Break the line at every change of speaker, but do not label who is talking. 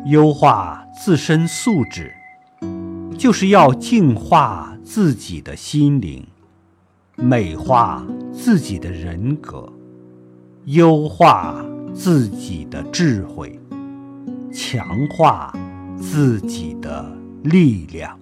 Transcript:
优化自身素质，就是要净化自己的心灵，美化自己的人格，优化自己的智慧，强化自己的力量。